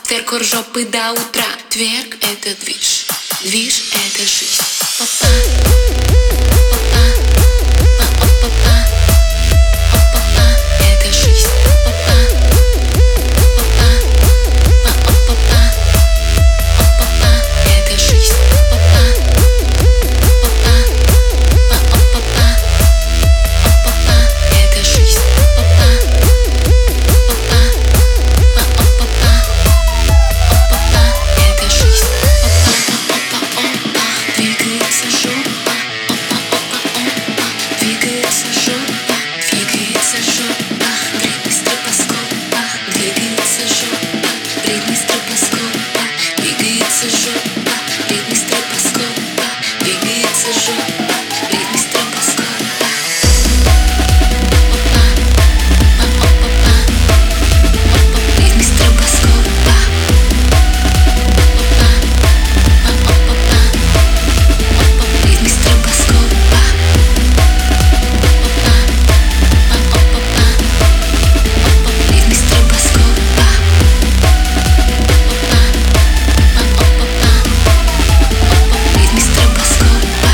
Тверк жопы до утра. Тверк — это движ, движ — это жизнь. Опа, опа, опа, опа, это жизнь. Опа, опа, опа, опа, это жизнь. Опа, опа, опа, опа, это жизнь. Опа, опа, опа, это жизнь. Опа, опа, двигается жопа. Опа, опа, двигается жопа. Двигается жопа. Бритни стробоскопа. Двигается жопа. Бритни стробоскопа. Двигается жопа. Бритни стробоскопа. Двигается жопа. Бритни стробоскопа. Бритни стробоскопа. Бритни стробоскопа. Бритни стробоскопа. Бритни стробоскопа.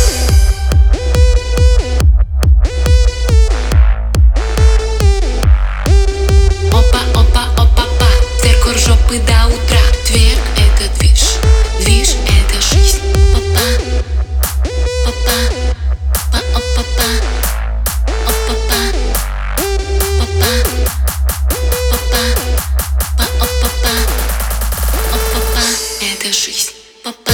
Опа, опа, опа, па. Тверк жопы до утра. Тверк — это движ, движ — это жизнь. Опа, опа, па, опа, па, опа, па, опа, опа, па, опа, па, опа, па, это жизнь. Опа.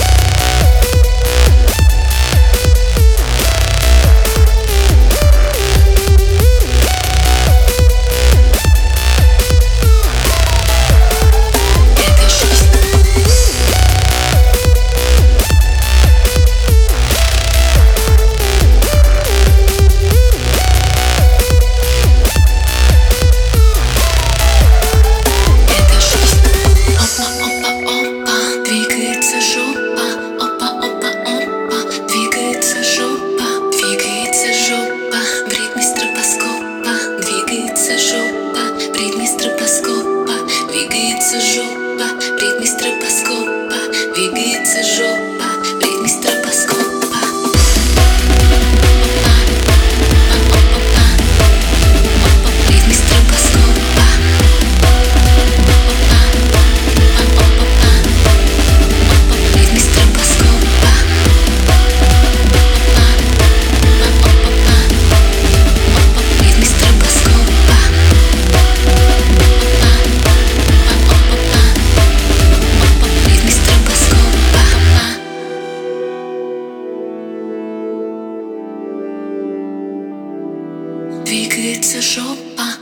Это жизнь. Это жизнь. Опа, опа, опа, двигается жопа. Опа, опа, опа, двигается жопа. Двигается жопа. Бритни стробоскопа. Двигается жопа. Бритни стробоскопа. Двигается жопа. Бритни стробоскопа. Двигается жопа. Бритни стробоскопа. Бритни стробоскопа. Бритни стробоскопа. Бритни стробоскопа. Бритни стробоскопа. Двигается жопа.